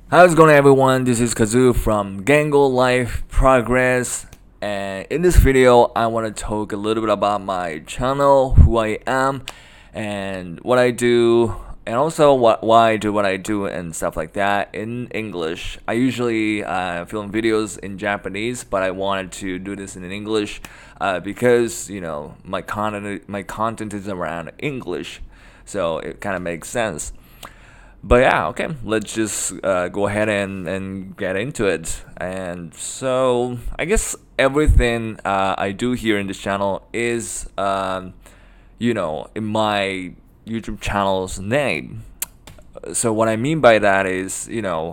How's it going, everyone? This is Kazoo from Gango Life Progress, and in this video I want to talk a little bit about my channel, who I am, and what I do, and also why I do what I do and stuff like that in English. I usually film videos in Japanese, but I wanted to do this in English because my content is around English, so it kind of makes sense. But yeah, okay, let's just go ahead and get into it. And so I guess everything I do here in this channel is, in my YouTube channel's name. So what I mean by that is,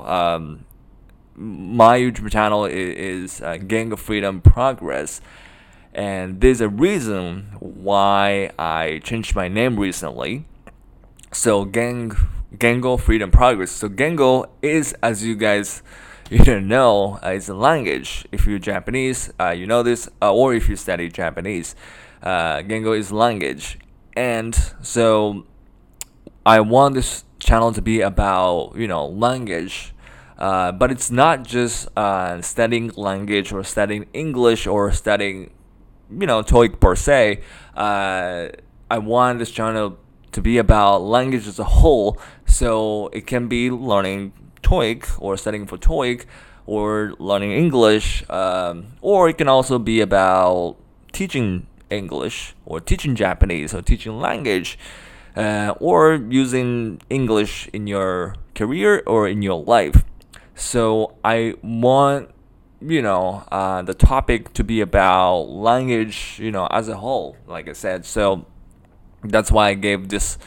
my YouTube channel is Gang of Freedom Progress. And there's a reason why I changed my name recently. So Gango Freedom Progress. So Gango is, as you guys know, is a language. If you're Japanese, you know this, or if you study Japanese, Gango is language. And so I want this channel to be about language. But it's not just studying language or studying English or studying TOEIC per se. I want this channel to be about language as a whole, so it can be learning TOEIC or studying for TOEIC or learning English, or it can also be about teaching English or teaching Japanese or teaching language, or using English in your career or in your life. So I want the topic to be about language as a whole, like I said. So that's why I gave this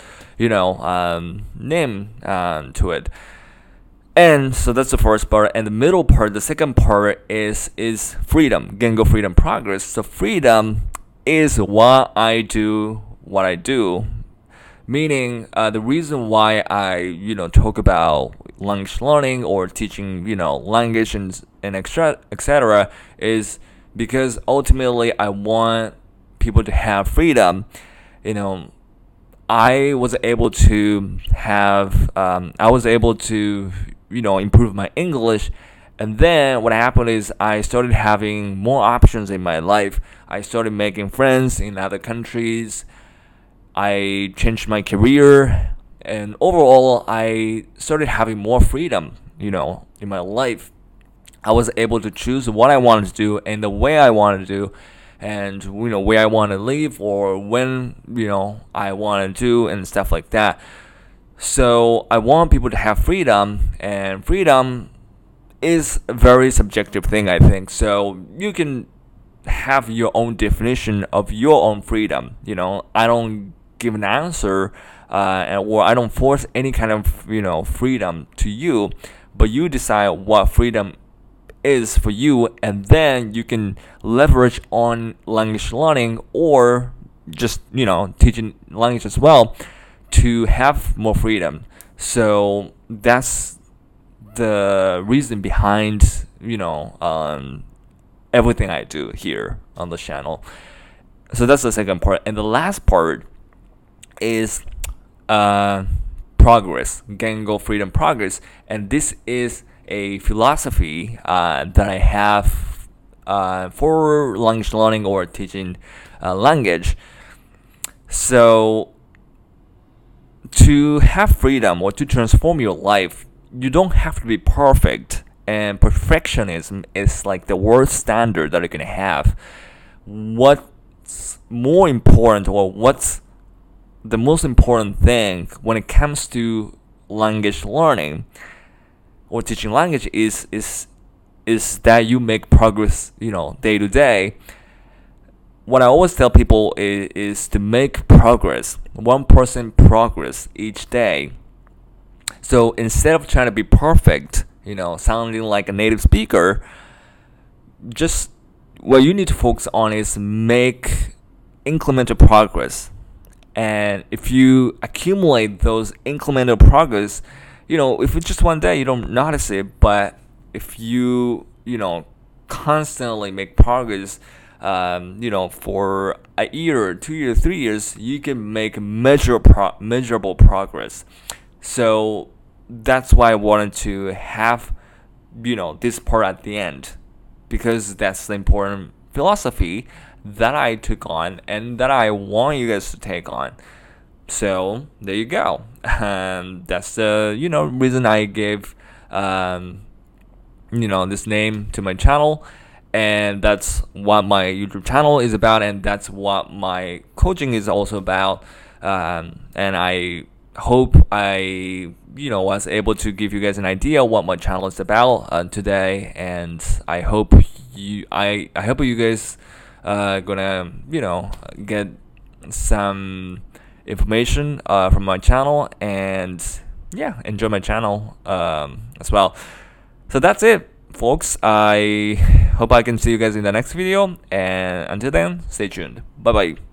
name to it. And so that's the first part. And the middle part, the second part is freedom, Gango Freedom Progress. So freedom is why I do what I do, meaning the reason why I talk about language learning or teaching language and etc. is because ultimately I want people to have freedom. I was able to improve my English. And then what happened is I started having more options in my life. I started making friends in other countries. I changed my career. And overall, I started having more freedom, in my life. I was able to choose what I wanted to do and the way I wanted to do, and where I want to live or when I want to do and stuff like that. So I want people to have freedom, and freedom is a very subjective thing, I think. So you can have your own definition of your own freedom. I don't give an answer, or I don't force any kind of freedom to you, but you decide what freedom is for you, and then you can leverage on language learning or just teaching language as well to have more freedom. So that's the reason behind everything I do here on the channel. So that's the second part. And the last part is progress, Gango Freedom Progress. And this is a philosophy that I have for language learning or teaching language. So to have freedom or to transform your life, you don't have to be perfect. And perfectionism is like the worst standard that you can have. What's more important, or what's the most important thing when it comes to language learning or teaching language is that you make progress, day to day. What I always tell people is to make progress, 1% progress each day. So instead of trying to be perfect, sounding like a native speaker, just what you need to focus on is make incremental progress. And if you accumulate those incremental progress, if it's just one day, you don't notice it. But if you, constantly make progress, for a year, 2 years, 3 years, you can make measurable progress. So that's why I wanted to have, this part at the end, because that's the important philosophy that I took on and that I want you guys to take on. So there you go. That's the reason I gave this name to my channel, and that's what my YouTube channel is about, and that's what my coaching is also about. And I hope I was able to give you guys an idea what my channel is about today, and I hope you guys gonna get some information from my channel, and enjoy my channel as well. So that's it, folks. I hope I can see you guys in the next video, and until then, stay tuned. Bye bye.